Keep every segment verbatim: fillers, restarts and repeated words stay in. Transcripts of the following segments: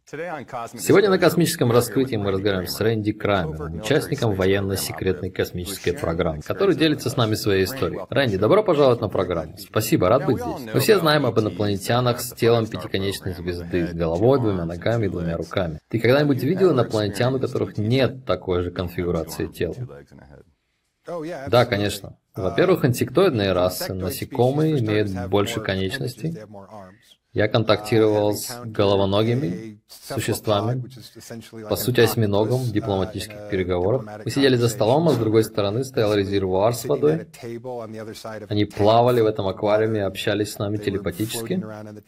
Сегодня на космическом раскрытии мы разговариваем с Рэнди Крамером, участником военно-секретной космической программы, который делится с нами своей историей. Рэнди, добро пожаловать на программу. Спасибо, рад быть здесь. Мы все знаем об инопланетянах с телом пятиконечной звезды, с головой, двумя ногами и двумя руками. Ты когда-нибудь видел инопланетян, у которых нет такой же конфигурации тела? Да, конечно. Во-первых, инсектоидные расы, насекомые, имеют больше конечностей. Я контактировал с головоногими существами, по сути осьминогом, в дипломатических переговорах. Мы сидели за столом, а с другой стороны стоял резервуар с водой. Они плавали в этом аквариуме и общались с нами телепатически.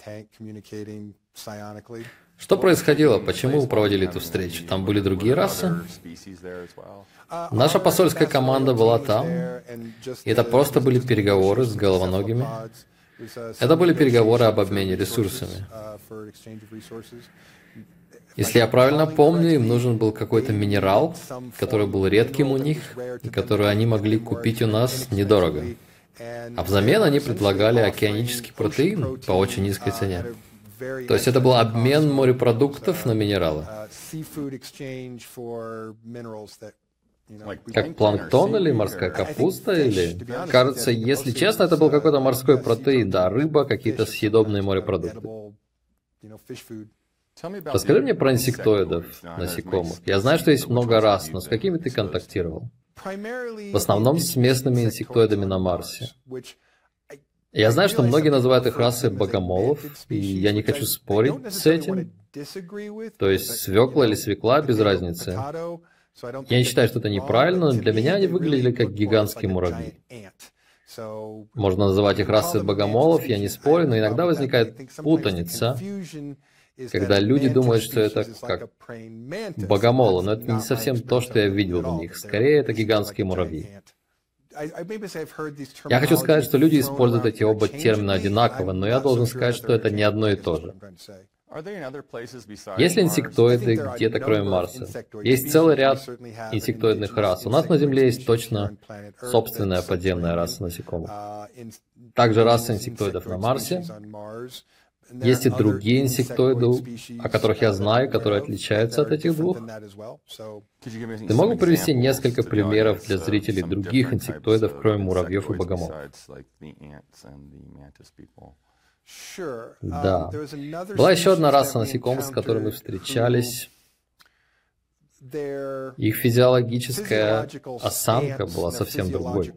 Что происходило? Почему вы проводили эту встречу? Там были другие расы? Наша посольская команда была там, и это просто были переговоры с головоногими. Это были переговоры об обмене ресурсами. Если я правильно помню, им нужен был какой-то минерал, который был редким у них, и который они могли купить у нас недорого. А взамен они предлагали океанический протеин по очень низкой цене. То есть это был обмен морепродуктов на минералы. Как планктон или морская капуста, или... Кажется, если честно, это был какой-то морской протеин, да, рыба, какие-то съедобные морепродукты. Расскажи мне про инсектоидов, насекомых. Я знаю, что есть много рас, но с какими ты контактировал? В основном с местными инсектоидами на Марсе. Я знаю, что многие называют их расой богомолов, и я не хочу спорить с этим. То есть свекла или свекла, без разницы. Я не считаю, что это неправильно, но для меня они выглядели как гигантские муравьи. Можно называть их расой богомолов, я не спорю, но иногда возникает путаница, когда люди думают, что это как богомолы, но это не совсем то, что я видел в них. Скорее, это гигантские муравьи. Я хочу сказать, что люди используют эти оба термина одинаково, но я должен сказать, что это не одно и то же. Есть ли инсектоиды где-то кроме Марса? Есть целый ряд инсектоидных рас. У нас на Земле есть точно собственная подземная раса насекомых. Также раса инсектоидов на Марсе. Есть и другие инсектоиды, о которых я знаю, которые отличаются от этих двух. Ты мог бы привести несколько примеров для зрителей других инсектоидов, кроме муравьев и богомолов? Да. Была еще одна раса насекомых, с которой мы встречались. Их физиологическая осанка была совсем другой.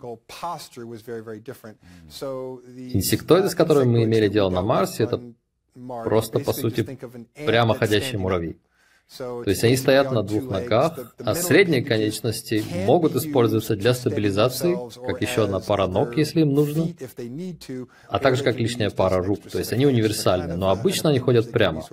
Инсектоиды, с которыми мы имели дело на Марсе, это просто, по сути, прямоходящие муравьи. То есть они стоят на двух ногах, а средние конечности могут использоваться для стабилизации, как еще одна пара ног, если им нужно, а также как лишняя пара рук. То есть они универсальны, но обычно они ходят прямо.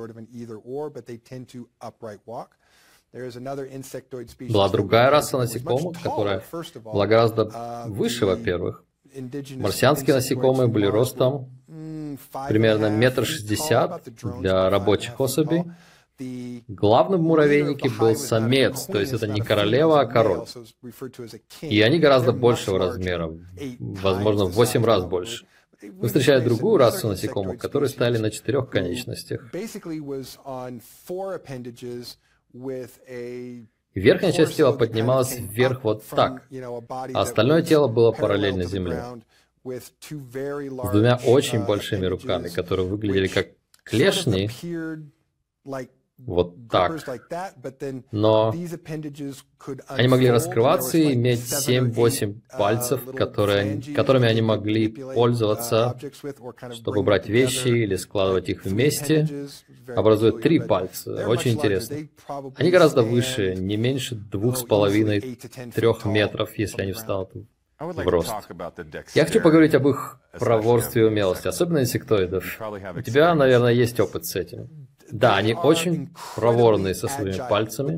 Была другая раса насекомых, которая была гораздо выше, во-первых. Марсианские насекомые были ростом примерно метр шестьдесят для рабочих особей. Главным в муравейнике был самец, то есть это не королева, а король. И они гораздо большего размера, возможно, в восемь раз больше. Мы встречали другую расу насекомых, которые стояли на четырех конечностях. Верхняя часть тела поднималась вверх вот так, а остальное тело было параллельно земле. С двумя очень большими руками, которые выглядели как клешни, вот так. Но они могли раскрываться и иметь семь-восемь пальцев, которые, которыми они могли пользоваться, чтобы брать вещи или складывать их вместе, образуя три пальца. Очень интересно. Они гораздо выше, не меньше двух с половиной-трех метров, если они встанут в рост. Я хочу поговорить об их проворстве и умелости, особенно инсектоидов. У тебя, наверное, есть опыт с этим. Да, они очень проворные со своими пальцами.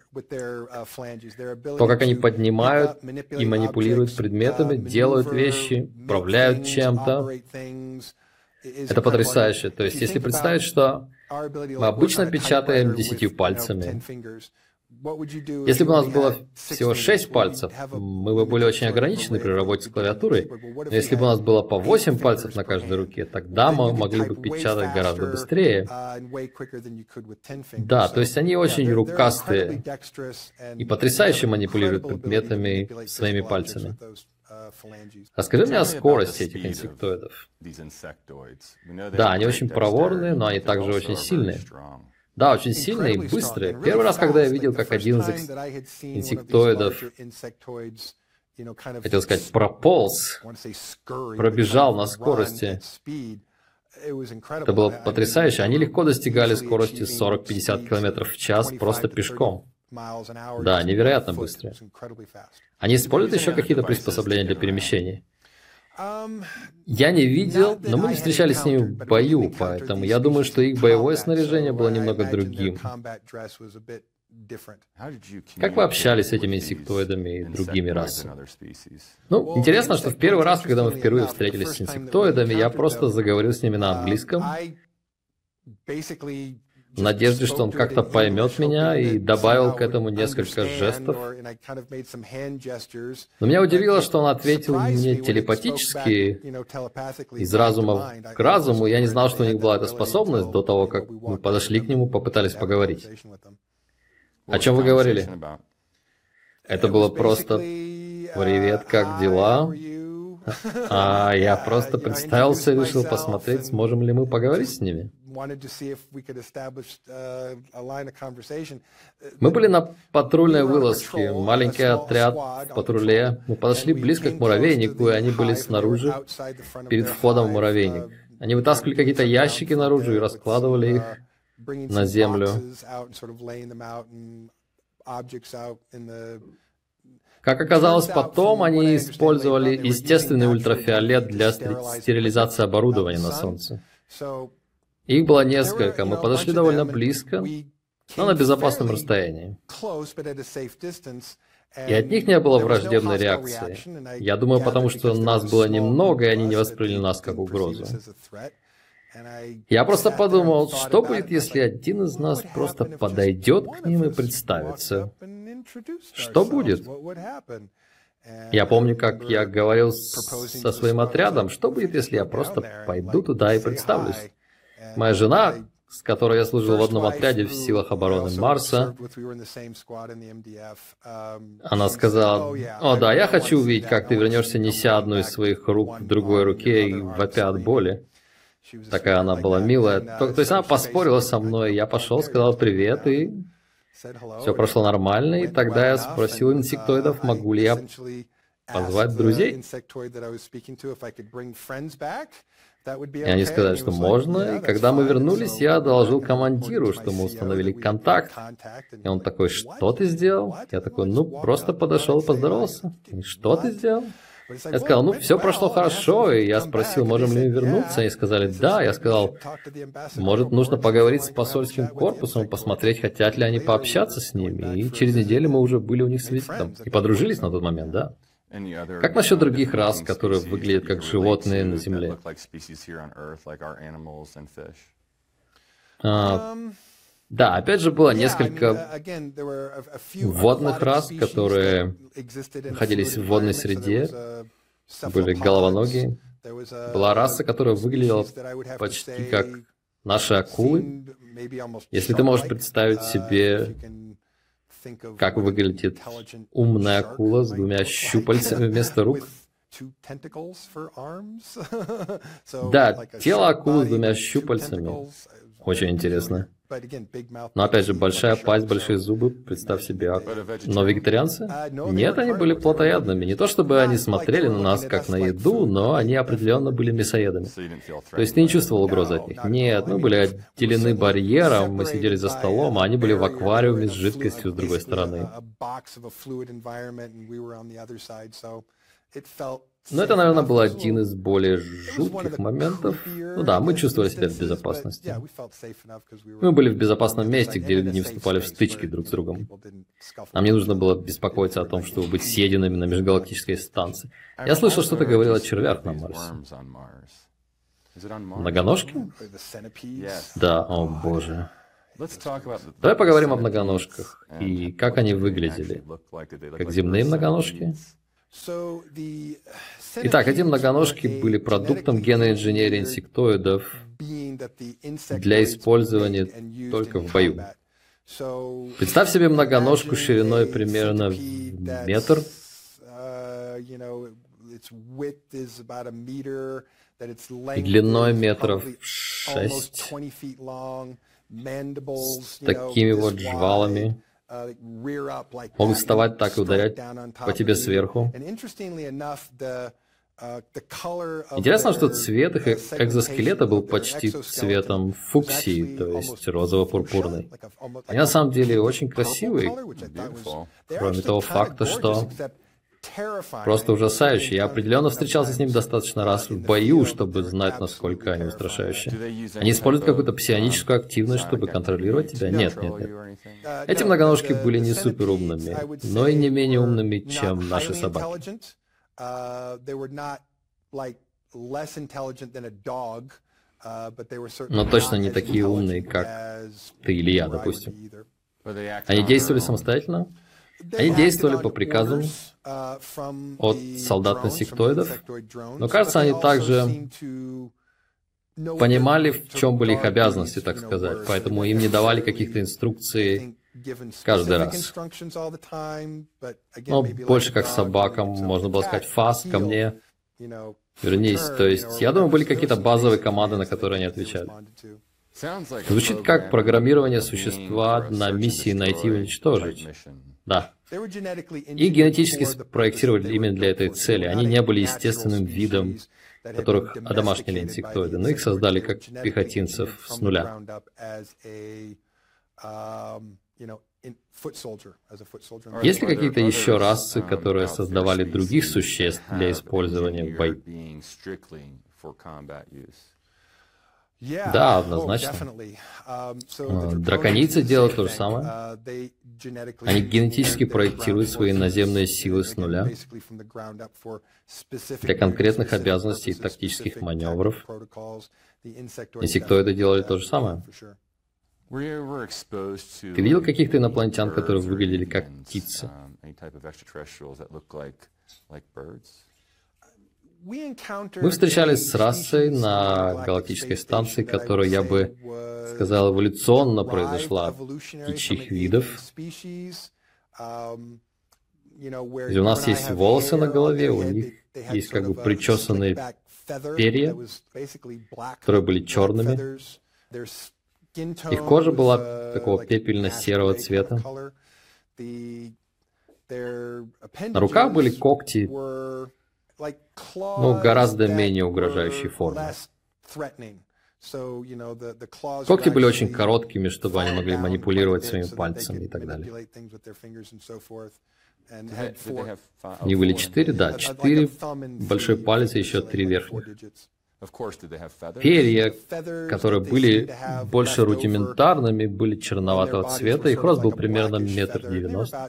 То, как они поднимают и манипулируют предметами, делают вещи, управляют чем-то. Это потрясающе. То есть, если представить, что мы обычно печатаем десятью пальцами, Если бы у нас было всего шесть пальцев, мы бы были очень ограничены при работе с клавиатурой, но если бы у нас было по восемь пальцев на каждой руке, тогда мы могли бы печатать гораздо быстрее. Да, то есть они очень рукастые и потрясающе манипулируют предметами своими пальцами. Расскажи мне о скорости этих инсектоидов. Да, они очень проворные, но они также очень сильные. Да, очень сильные и быстрые. Первый раз, когда я видел, как один из инсектоидов, хотел сказать, прополз, пробежал на скорости, это было потрясающе. Они легко достигали скорости сорок-пятьдесят километров в час просто пешком. Да, невероятно быстрые. Они используют еще какие-то приспособления для перемещения? Я не видел, но мы не встречались с ними в бою, поэтому я думаю, что их боевое снаряжение было немного другим. Как вы общались с этими инсектоидами и другими расами? Ну, интересно, что в первый раз, когда мы впервые встретились с инсектоидами, я просто заговорил с ними на английском, в надежде, что он как-то поймет меня, и добавил к этому несколько жестов. Но меня удивило, что он ответил мне телепатически, из разума к разуму. Я не знал, что у них была эта способность до того, как мы подошли к нему, попытались поговорить. О чем вы говорили? Это было просто «Привет, как дела?» А я просто представился и решил посмотреть, сможем ли мы поговорить с ними. Мы были на патрульной вылазке, маленький отряд в патруле. Мы подошли близко к муравейнику, и они были снаружи, перед входом в муравейник. Они вытаскивали какие-то ящики наружу и раскладывали их на землю. Как оказалось потом, они использовали естественный ультрафиолет для стерилизации оборудования на Солнце. Их было несколько, мы подошли довольно близко, но на безопасном расстоянии. И от них не было враждебной реакции. Я думаю, потому что нас было немного, и они не восприняли нас как угрозу. Я просто подумал, что будет, если один из нас просто подойдет к ним и представится? Что будет? Я помню, как я говорил со своим отрядом, что будет, если я просто пойду туда и представлюсь? Моя жена, с которой я служил в одном отряде в силах обороны Марса, она сказала: «О да, я хочу увидеть, как ты вернешься, неся одну из своих рук в другой руке и вопя от боли». Такая она была милая. То, то есть она поспорила со мной, я пошел, сказал привет, и все прошло нормально, и тогда я спросил инсектоидов, могу ли я позвать друзей. И они сказали, что можно, и когда мы вернулись, я доложил командиру, что мы установили контакт. И он такой: «Что ты сделал?» Я такой: «Ну, просто подошел и поздоровался». И «Что ты сделал?» Я сказал: «Ну, все прошло хорошо», и я спросил, можем ли мы вернуться. Они сказали: «Да». Я сказал: «Может, нужно поговорить с посольским корпусом, посмотреть, хотят ли они пообщаться с ними». И через неделю мы уже были у них свидетелем и подружились на тот момент, да. Как насчет других рас, которые выглядят как животные на Земле? А, да, опять же, было несколько водных рас, которые находились в водной среде, были головоногие. Была раса, которая выглядела почти как наши акулы. Если ты можешь представить себе, как выглядит умная акула с двумя щупальцами вместо рук. Да, тело акулы с двумя щупальцами. Очень интересно. Но опять же, большая пасть, большие зубы, представь себе. Но вегетарианцы? Нет, они были плотоядными. Не то чтобы они смотрели на нас как на еду, но они определенно были мясоедами. То есть ты не чувствовал угрозы от них? Нет, мы были отделены барьером, мы сидели за столом, а они были в аквариуме с жидкостью с другой стороны. Но это, наверное, был один из более жутких моментов. Ну да, мы чувствовали себя в безопасности. Мы были в безопасном месте, где люди не вступали в стычки друг с другом. Нам не нужно было беспокоиться о том, чтобы быть съеденными на межгалактической станции. Я слышал, что ты говорил о червях на Марсе. Многоножки? Да, о боже. Давай поговорим о многоножках и как они выглядели. Как земные многоножки? Итак, эти многоножки были продуктом генной инженерии инсектоидов для использования только в бою. Представь себе многоножку шириной примерно в метр, и длиной метров шесть, с такими вот жвалами, могут вставать так и ударять по тебе сверху. Интересно, что цвет их экзоскелета был почти цветом фуксии, то есть розово-пурпурный. Они на самом деле очень красивые, кроме того факта, что просто ужасающие. Я определенно встречался с ними достаточно раз в бою, чтобы знать, насколько они устрашающие. Они используют какую-то псионическую активность, чтобы контролировать тебя? Нет, нет, нет. Эти многоножки были не суперумными, но и не менее умными, чем наши собаки. Но точно не такие умные, как ты или я, допустим. Они действовали самостоятельно? Они действовали по приказам от солдат-инсектоидов, но, кажется, они также понимали, в чем были их обязанности, так сказать, поэтому им не давали каких-то инструкций каждый раз. Но больше как собакам, можно было сказать, фас, ко мне, вернись. То есть, я думаю, были какие-то базовые команды, на которые они отвечали. Звучит как программирование существа на миссии найти и уничтожить. Да. И генетически спроектировали именно для этой цели. Они не были естественным видом, которых одомашнили инсектоиды, но их создали как пехотинцев с нуля. Есть ли какие-то еще расы, которые создавали других существ для использования в бою? Да, однозначно. Драконийцы делают то же самое. Они генетически проектируют свои наземные силы с нуля для конкретных обязанностей и тактических маневров. Инсектоиды делали то же самое. Ты видел каких-то инопланетян, которые выглядели как птицы? Мы встречались с расой на галактической станции, которая, я бы сказал, эволюционно произошла от птичьих видов. И у нас есть волосы на голове, у них есть как бы причесанные перья, которые были черными. Их кожа была такого пепельно-серого цвета. На руках были когти, ну, гораздо менее угрожающей формы. Когти были очень короткими, чтобы они могли манипулировать своими пальцами и так далее. У них были четыре, да, четыре большой палец и еще три верхних. Перья, которые были больше рудиментарными, были черноватого цвета, их рост был примерно метр девяносто.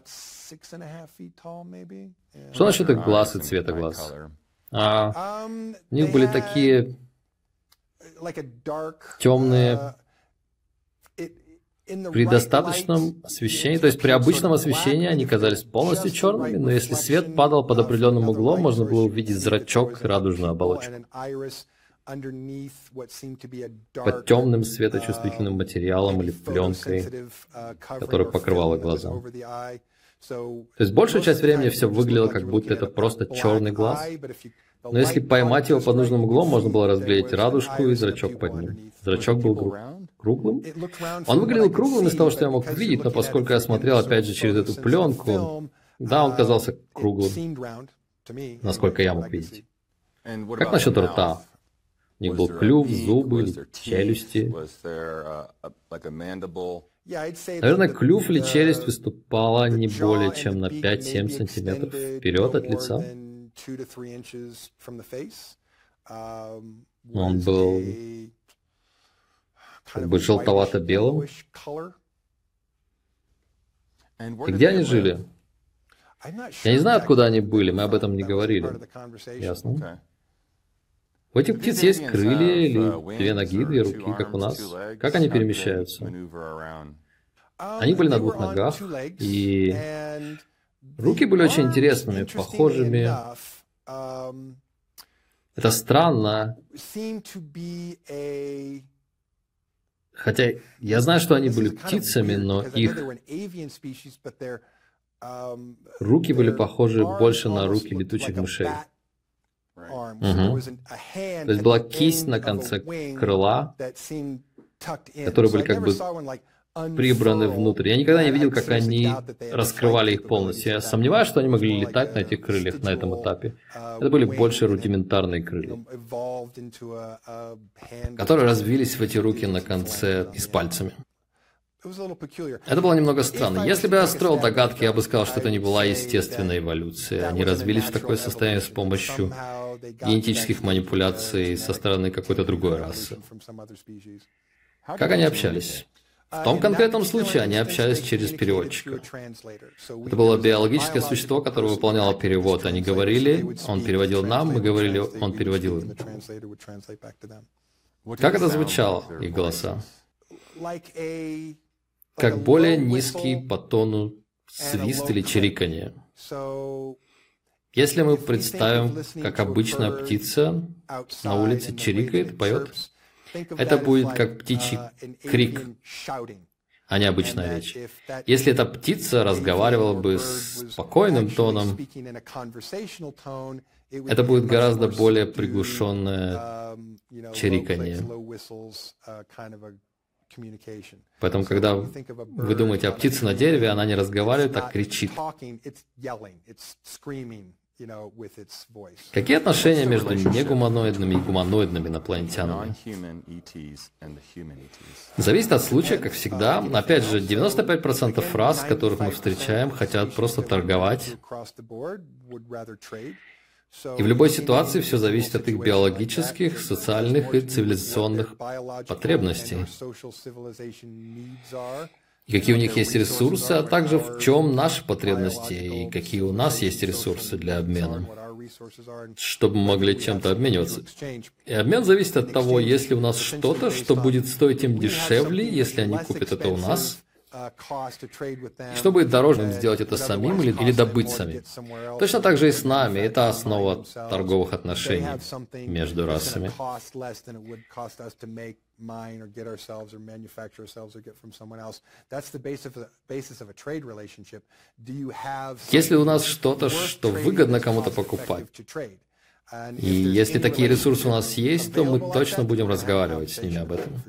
Что насчет их глаз и цвета глаз? А, у них были такие темные при достаточном освещении, то есть при обычном освещении они казались полностью черными, но если свет падал под определенным углом, можно было увидеть зрачок и радужную оболочку под темным светочувствительным материалом или пленкой, которая покрывала глаза. То есть большую часть времени все выглядело, как будто это просто черный глаз, но если поймать его под нужным углом, можно было разглядеть радужку и зрачок под ним. Зрачок был гру... круглым. Он выглядел круглым из того, что я мог видеть, но поскольку я смотрел опять же через эту пленку, да, он казался круглым, насколько я мог видеть. Как насчет рта? У них был клюв, зубы, челюсти. Наверное, клюв или челюсть выступала не более чем на пять-семь сантиметров вперед от лица. Он был как бы желтовато-белым. И где они жили? Я не знаю, откуда они были, мы об этом не говорили. Ясно. У этих птиц есть крылья или две ноги, две руки, как у нас. Как они перемещаются? Они были на двух ногах, и руки были очень интересными, похожими. Это странно. Хотя я знаю, что они были птицами, но их руки были похожи больше на руки летучих мышей. Угу. То есть была кисть на конце крыла, которые были как бы прибраны внутрь. Я никогда не видел, как они раскрывали их полностью. Я сомневаюсь, что они могли летать на этих крыльях на этом этапе. Это были больше рудиментарные крылья, которые развились в эти руки на конце и с пальцами. Это было немного странно. Если бы я строил догадки, я бы сказал, что это не была естественная эволюция. Они развились в такое состояние с помощью генетических манипуляций со стороны какой-то другой расы. Как они общались? В том конкретном случае они общались через переводчика. Это было биологическое существо, которое выполняло перевод. Они говорили, он переводил нам, мы говорили, он переводил им. Как это звучало, их голоса? Как более низкий по тону свист или чириканье. Если мы представим, как обычная птица на улице чирикает, поет, это будет как птичий крик, а не обычная речь. Если эта птица разговаривала бы спокойным тоном, это будет гораздо более приглушенное чириканье. Поэтому, когда вы думаете о птице на дереве, она не разговаривает, а кричит. Какие отношения между негуманоидными и гуманоидными инопланетянами? Зависит от случая, как всегда. Опять же, девяносто пять процентов фраз, которых мы встречаем, хотят просто торговать. И в любой ситуации все зависит от их биологических, социальных и цивилизационных потребностей. И какие у них есть ресурсы, а также в чем наши потребности и какие у нас есть ресурсы для обмена, чтобы мы могли чем-то обмениваться. И обмен зависит от того, есть ли у нас что-то, что будет стоить им дешевле, если они купят это у нас, и что будет дороже им сделать это самим или, или добыть самим. Точно так же и с нами. Это основа торговых отношений между расами. Если у нас что-то, что выгодно кому-то покупать, и если такие ресурсы у нас есть, то мы точно будем разговаривать с ними об этом.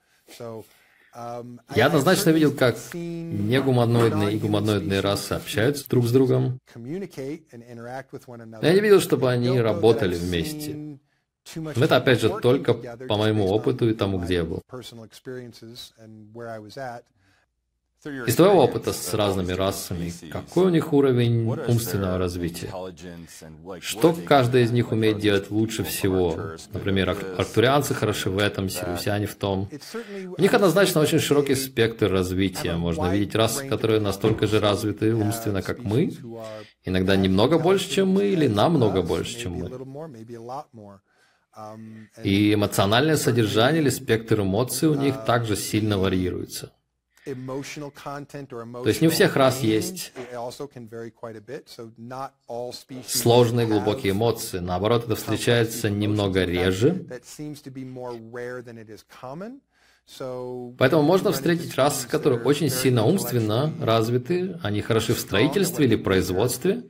Я однозначно видел, как негуманоидные и гуманоидные расы общаются друг с другом. Но я не видел, чтобы они работали вместе. Но это, опять же, только по моему опыту и тому, где я был. Из твоего опыта с разными расами, какой у них уровень умственного развития? Что каждый из них умеет делать лучше всего? Например, арктурианцы хороши в этом, сириусяне в том. У них однозначно очень широкий спектр развития. Можно видеть расы, которые настолько же развиты умственно, как мы, иногда немного больше, чем мы, или намного больше, чем мы. И эмоциональное содержание или спектр эмоций у них также сильно варьируется. То есть не у всех рас есть сложные глубокие эмоции. Наоборот, это встречается немного реже. Поэтому можно встретить расы, которые очень сильно умственно развиты, они хороши в строительстве или производстве,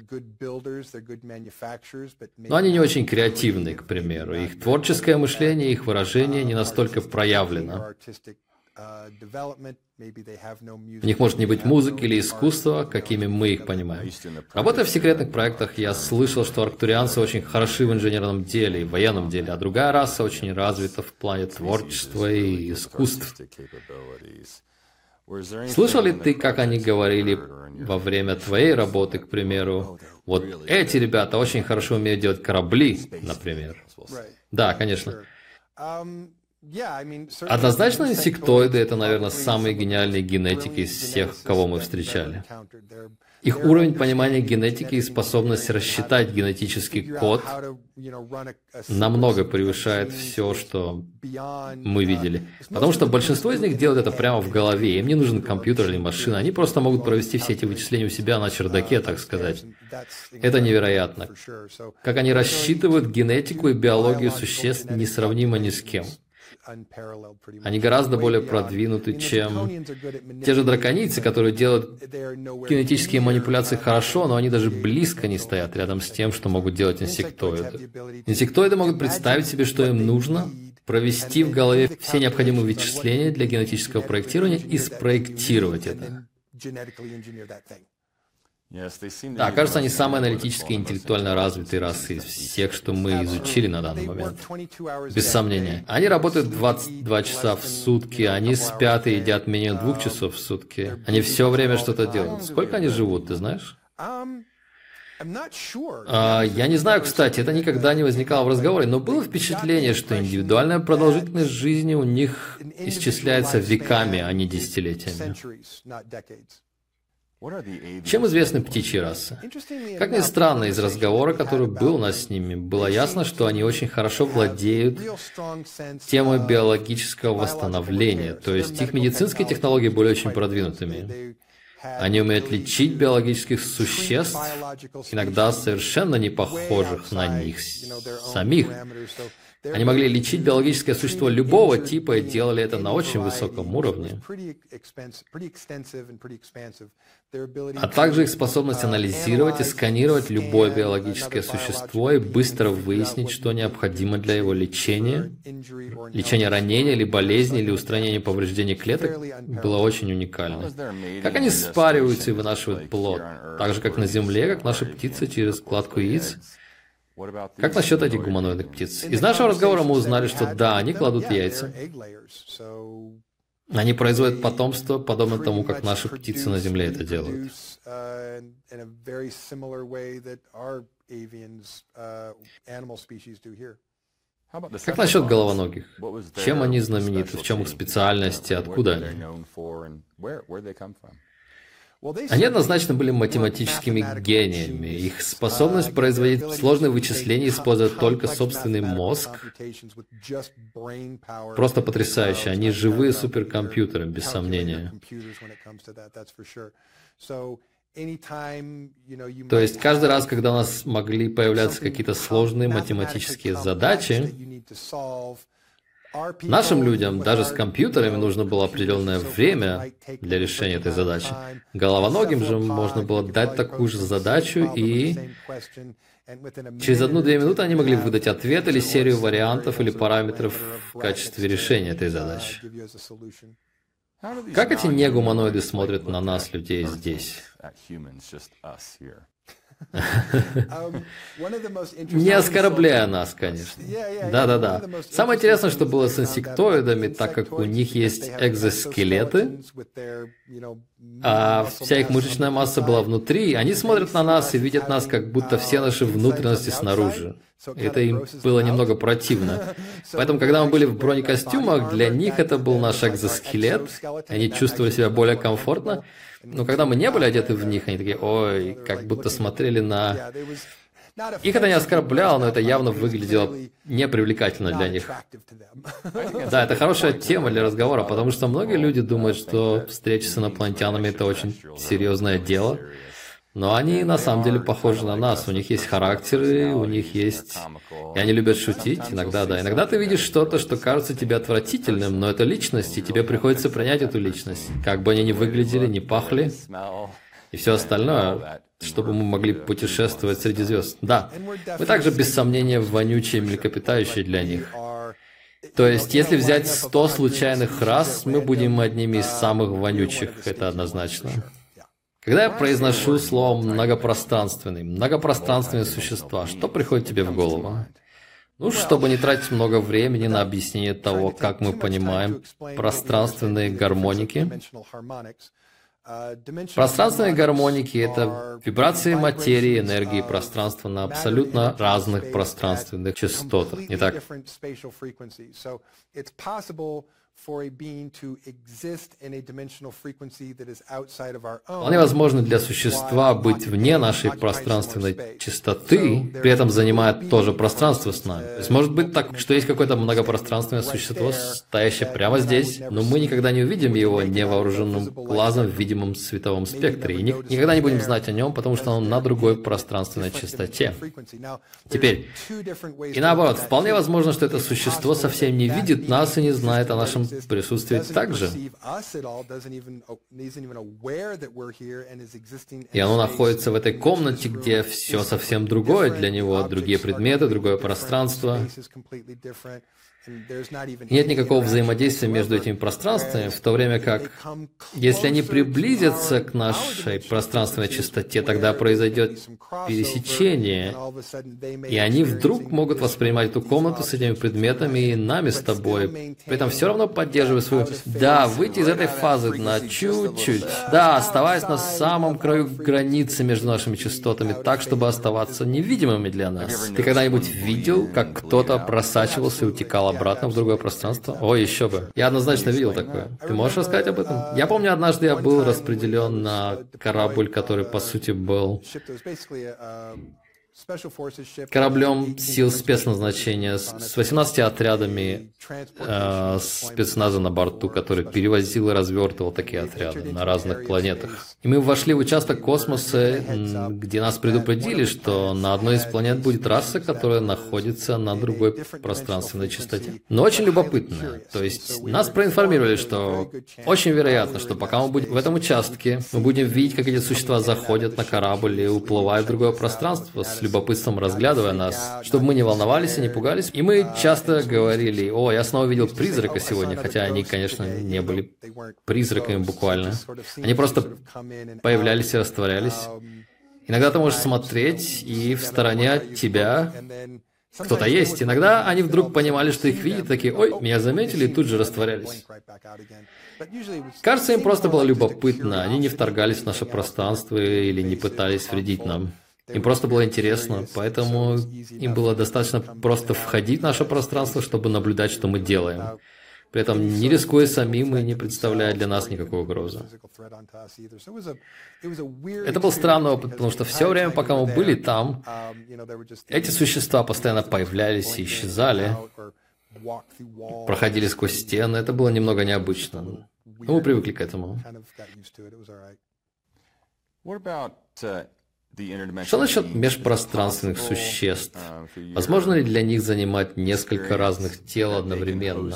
но они не очень креативны, к примеру. Их творческое мышление, их выражение не настолько проявлено. У них может не быть музыки или искусства, какими мы их понимаем. Работая в секретных проектах, я слышал, что арктурианцы очень хороши в инженерном деле и в военном деле, а другая раса очень развита в плане творчества и искусств. Слышал ли ты, как они говорили во время твоей работы, к примеру, вот эти ребята очень хорошо умеют делать корабли, например? Да, конечно. Однозначно, инсектоиды — это, наверное, самые гениальные генетики из всех, кого мы встречали. Их уровень понимания генетики и способность рассчитать генетический код намного превышает все, что мы видели. Потому что большинство из них делают это прямо в голове. Им не нужен компьютер или машина. Они просто могут провести все эти вычисления у себя на чердаке, так сказать. Это невероятно. Как они рассчитывают генетику и биологию существ, несравнимо ни с кем. Они гораздо более продвинуты, чем те же драконийцы, которые делают генетические манипуляции хорошо, но они даже близко не стоят рядом с тем, что могут делать инсектоиды. Инсектоиды могут представить себе, что им нужно, провести в голове все необходимые вычисления для генетического проектирования и спроектировать это. Да, кажется, они самые аналитически и интеллектуально развитые расы из всех, что мы изучили на данный момент. Без сомнения. Они работают двадцать два часа в сутки, они спят и едят менее двух часов в сутки. Они все время что-то делают. Сколько они живут, ты знаешь? А, я не знаю, кстати, это никогда не возникало в разговоре, но было впечатление, что индивидуальная продолжительность жизни у них исчисляется веками, а не десятилетиями. Чем известны птичьи расы? Как ни странно, из разговора, который был у нас с ними, было ясно, что они очень хорошо владеют темой биологического восстановления, то есть их медицинские технологии были очень продвинутыми. Они умеют лечить биологических существ, иногда совершенно не похожих на них самих. Они могли лечить биологическое существо любого типа и делали это на очень высоком уровне. А также их способность анализировать и сканировать любое биологическое существо и быстро выяснить, что необходимо для его лечения, лечения ранения или болезни, или устранения повреждений клеток, было очень уникально. Как они спариваются и вынашивают плод, так же, как на Земле, как наши птицы через кладку яиц. Как насчет этих гуманоидных птиц? Из нашего разговора мы узнали, что да, они кладут яйца. Они производят потомство, подобно тому, как наши птицы на Земле это делают. Как насчет головоногих? Чем они знамениты? В чем их специальность и откуда они? Они однозначно были математическими гениями. Их способность производить сложные вычисления, используя только собственный мозг, просто потрясающая. Они живые суперкомпьютеры, без сомнения. То есть каждый раз, когда у нас могли появляться какие-то сложные математические задачи, нашим людям, даже с компьютерами, нужно было определенное время для решения этой задачи. Головоногим же можно было дать такую же задачу, и через одну-две минуты они могли выдать ответ или серию вариантов или параметров в качестве решения этой задачи. Как эти негуманоиды смотрят на нас, людей, здесь? Не оскорбляя нас, конечно. Да-да-да. Самое интересное, что было с инсектоидами, так как у них есть экзоскелеты, а вся их мышечная масса была внутри, они смотрят на нас и видят нас, как будто все наши внутренности снаружи. Это им было немного противно. Поэтому, когда мы были в бронекостюмах, для них это был наш экзоскелет, они чувствовали себя более комфортно. Но когда мы не были одеты в них, они такие, ой, как будто смотрели на... Их это не оскорбляло, но это явно выглядело непривлекательно для них. Да, это хорошая тема для разговора, потому что многие люди думают, что встреча с инопланетянами — это очень серьезное дело. Но они на самом деле похожи на нас, у них есть характеры, у них есть... И они любят шутить, иногда, да. Иногда ты видишь что-то, что кажется тебе отвратительным, но это личность, и тебе приходится принять эту личность. Как бы они ни выглядели, ни пахли, и все остальное, чтобы мы могли путешествовать среди звезд. Да, мы также, без сомнения, вонючие млекопитающие для них. То есть, если взять сто случайных рас, мы будем одними из самых вонючих, это однозначно. Когда я произношу слово «многопространственный», «многопространственные существа», что приходит тебе в голову? Ну, чтобы не тратить много времени на объяснение того, как мы понимаем пространственные гармоники, Пространственные гармоники — это вибрации материи, энергии, пространства на абсолютно разных пространственных частотах, не так? Вполне возможно для существа быть вне нашей пространственной частоты, при этом занимая тоже пространство с нами. То есть может быть так, что есть какое-то многопространственное существо, стоящее прямо здесь, но мы никогда не увидим его невооруженным глазом в видимом световом спектре, и ни никогда не будем знать о нем, потому что он на другой пространственной частоте. Теперь, и наоборот, вполне возможно, что это существо совсем не видит нас и не знает о нашем присутствии также. И оно находится в этой комнате, где все совсем другое для него, другие предметы, другое пространство. Нет никакого взаимодействия между этими пространствами, в то время как, если они приблизятся к нашей пространственной частоте, тогда произойдет пересечение, и они вдруг могут воспринимать эту комнату с этими предметами и нами с тобой, при этом все равно поддерживая свою... Да, выйти из этой фазы на чуть-чуть. Да, оставаясь на самом краю границы между нашими частотами, так, чтобы оставаться невидимыми для нас. Ты когда-нибудь видел, как кто-то просачивался и утекал обратно в другое пространство? О, еще бы. Я однозначно видел такое. Ты можешь рассказать об этом? Я помню, однажды я был распределен на корабль, который, по сути, был кораблем сил спецназначения с восемнадцатью отрядами э, спецназа на борту, который перевозил и развертывал такие отряды на разных планетах. И мы вошли в участок космоса, где нас предупредили, что на одной из планет будет раса, которая находится на другой пространственной частоте. Но очень любопытная. То есть нас проинформировали, что очень вероятно, что пока мы будем в этом участке, мы будем видеть, как эти существа заходят на корабль и уплывают в другое пространство, с любопытством разглядывая нас, чтобы мы не волновались и не пугались. И мы часто говорили: «О, я снова видел призрака сегодня», хотя они, конечно, не были призраками буквально. Они просто появлялись и растворялись. Иногда ты можешь смотреть, и в стороне от тебя кто-то есть. Иногда они вдруг понимали, что их видят, такие: «Ой, меня заметили», и тут же растворялись. Кажется, им просто было любопытно. Они не вторгались в наше пространство или не пытались вредить нам. Им просто было интересно, поэтому им было достаточно просто входить в наше пространство, чтобы наблюдать, что мы делаем. При этом не рискуя самим и не представляя для нас никакой угрозы. Это был странный опыт, потому что все время, пока мы были там, эти существа постоянно появлялись и исчезали, проходили сквозь стены. Это было немного необычно. Но мы привыкли к этому. Что насчет межпространственных существ? Возможно ли для них занимать несколько разных тел одновременно?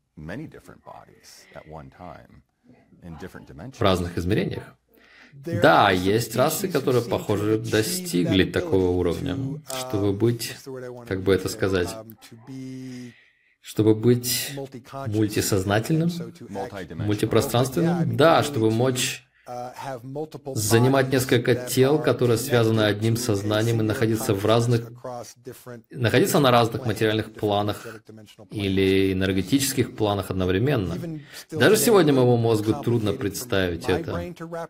В разных измерениях? Да, есть расы, которые, похоже, достигли такого уровня, чтобы быть, как бы это сказать, чтобы быть мультисознательным, мультипространственным? Да, чтобы мочь занимать несколько тел, которые связаны одним сознанием, и находиться в разных, находиться на разных материальных планах или энергетических планах одновременно. Даже сегодня моему мозгу трудно представить это.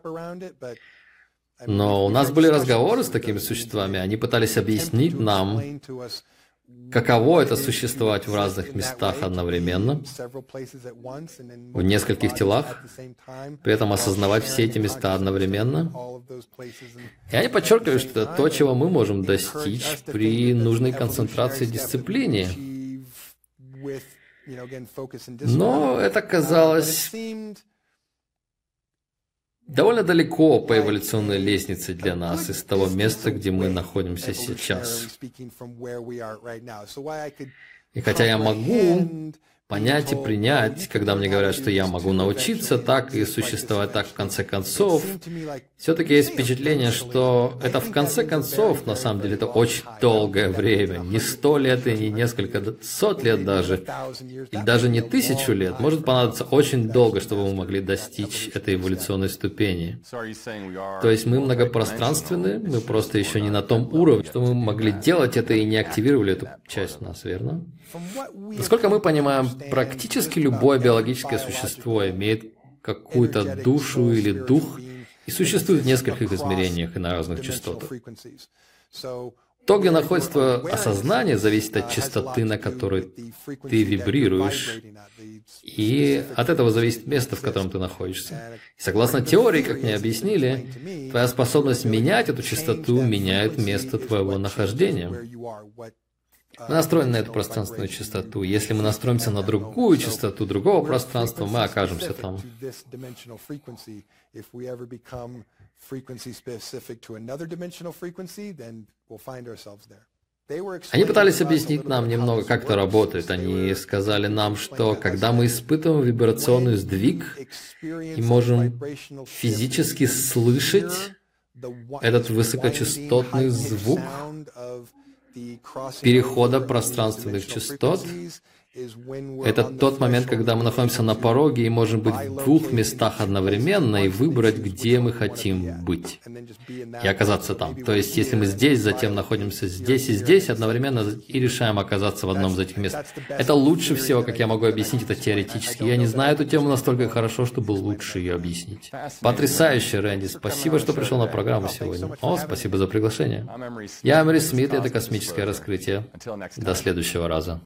Но у нас были разговоры с такими существами, они пытались объяснить нам, каково это существовать в разных местах одновременно, в нескольких телах, при этом осознавать все эти места одновременно. И они подчеркивали, что это то, чего мы можем достичь при нужной концентрации и дисциплине. Но это казалось довольно далеко по эволюционной лестнице для нас из того места, где мы находимся сейчас. И хотя я могу понять и принять, когда мне говорят, что я могу научиться так и существовать так в конце концов, все-таки есть впечатление, что это в конце концов, на самом деле, это очень долгое время. Не сто лет и не несколько сот лет даже, или даже не тысячу лет. Может понадобиться очень долго, чтобы мы могли достичь этой эволюционной ступени. То есть мы многопространственны, мы просто еще не на том уровне, что мы могли делать это и не активировали эту часть нас, верно? Насколько мы понимаем, практически любое биологическое существо имеет какую-то душу или дух и существует в нескольких измерениях и на разных частотах. То, где находится твое осознание, зависит от частоты, на которой ты вибрируешь, и от этого зависит место, в котором ты находишься. И согласно теории, как мне объяснили, твоя способность менять эту частоту меняет место твоего нахождения. Мы настроены на эту пространственную частоту. Если мы настроимся на другую частоту другого пространства, мы окажемся там. Они пытались объяснить нам немного, как это работает. Они сказали нам, что когда мы испытываем вибрационный сдвиг и можем физически слышать этот высокочастотный звук перехода пространственных частот, это тот момент, когда мы находимся на пороге и можем быть в двух местах одновременно и выбрать, где мы хотим быть, и оказаться там. То есть, если мы здесь, затем находимся здесь и здесь одновременно и решаем оказаться в одном из этих мест. Это лучше всего, как я могу объяснить это теоретически. Я не знаю эту тему настолько хорошо, чтобы лучше ее объяснить. Потрясающе, Рэнди. Спасибо, что пришел на программу сегодня. О, спасибо за приглашение. Я Эмери Смит, и это «Космическое раскрытие». До следующего раза.